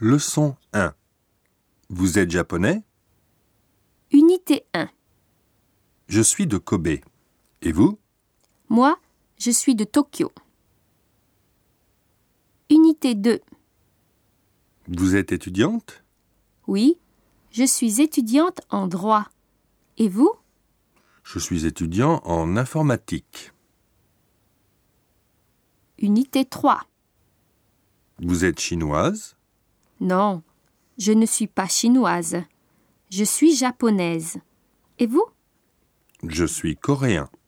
Leçon 1. Vous êtes japonais? Unité 1. Je suis de Kobe. Et vous? Moi, je suis de Tokyo. Unité 2. Vous êtes étudiante? Oui, je suis étudiante en droit. Et vous? Je suis étudiant en informatique. Unité 3. Vous êtes chinoise? Non, je ne suis pas chinoise. Je suis japonaise. Et vous? Je suis coréen.